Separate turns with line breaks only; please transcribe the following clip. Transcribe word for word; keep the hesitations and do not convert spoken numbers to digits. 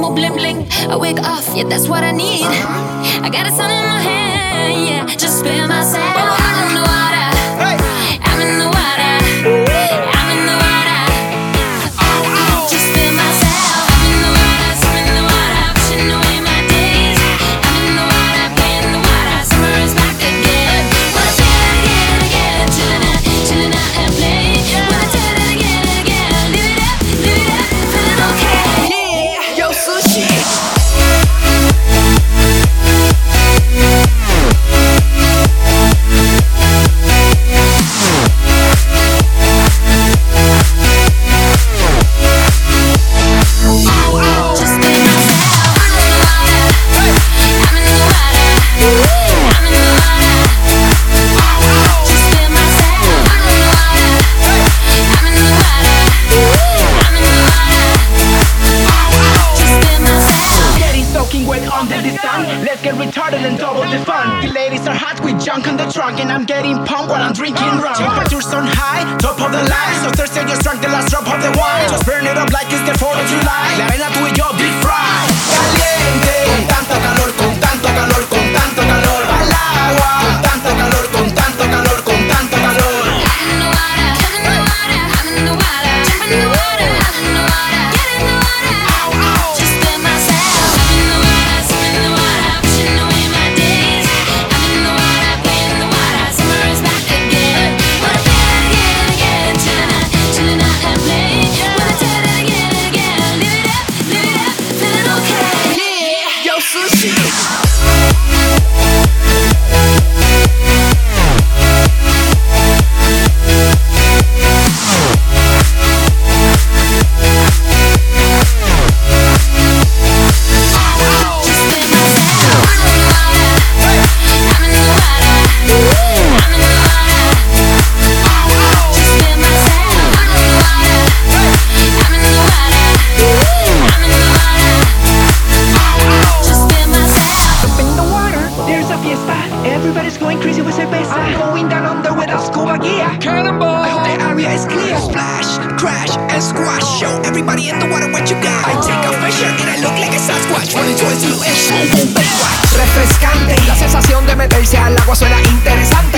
more bling bling. I wake off, yeah, that's what I need. I got a sun in my hand, yeah, just spin myself. I'm in the water, I'm in the water, I'm in the water. Just spin myself. I'm in the water, I'm in the water, wishing away my days. I'm in the water, playing the water, summer is back again. Wanna say it again, again, chillin' out, chillin' out and play. Wanna tell it again, again, live it up, live it up, feeling okay.
Yeah, yo, sushi.
Let's get retarded and double the fun. The ladies are hot with junk on the trunk, and I'm getting pumped while I'm drinking rum. Temperatures on high, top of the line. So Thursday just drank the last drop of the wine. Just burn it up like it's the fourth of July. La arena tú y yo deep fry. Caliente, con tanto calor, con tanto calor, con tanto calor. Al agua, con tanto calor, con tanto calor, con tanto calor.
I'm in the water, I'm in the water, I'm in the water, jump in the water, I'm in the water, get in the water. Ow, ow. Just spin myself. I'm in the water, I'm in the water, wishing away my days. I'm in the water, playing the water, summer is back again. Wanna play it again, again, chillin' out, chillin' out and play. Wanna tell it again, again, live it up, live it up, feeling okay.
Yeah, yo, sushi.
Everybody's going crazy with cerveza. I'm going down under with a scuba gear. Cannonball. I hope the area is clear. Splash, crash, and squash. Show everybody in the water what you got. I take off my shirt and I look like a Sasquatch. Running towards you and boom, boom, Baywatch. Refrescante. La sensación de meterse al agua suena interesante.